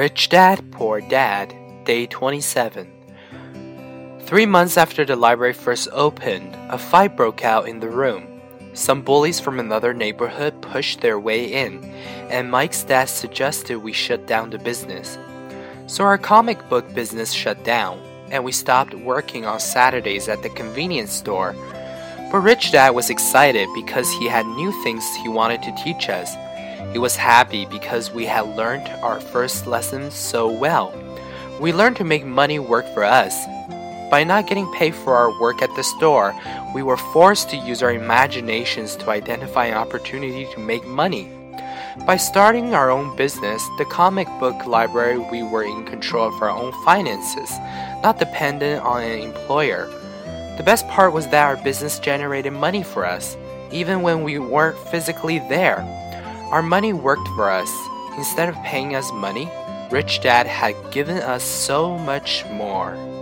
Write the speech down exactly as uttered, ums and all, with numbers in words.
Rich Dad, Poor Dad, Day twenty-seven. Three months after the library first opened, a fight broke out in the room. Some bullies from another neighborhood pushed their way in, and Mike's dad suggested we shut down the business. So our comic book business shut down, and we stopped working on Saturdays at the convenience store. But Rich Dad was excited because he had new things he wanted to teach us. He was happy because we had learned our first lessons so well. We learned to make money work for us. By not getting paid for our work at the store, we were forced to use our imaginations to identify an opportunity to make money. By starting our own business, the comic book library, we were in control of our own finances, not dependent on an employer. The best part was that our business generated money for us, even when we weren't physically there. Our money worked for us. Instead of paying us money, Rich Dad had given us so much more.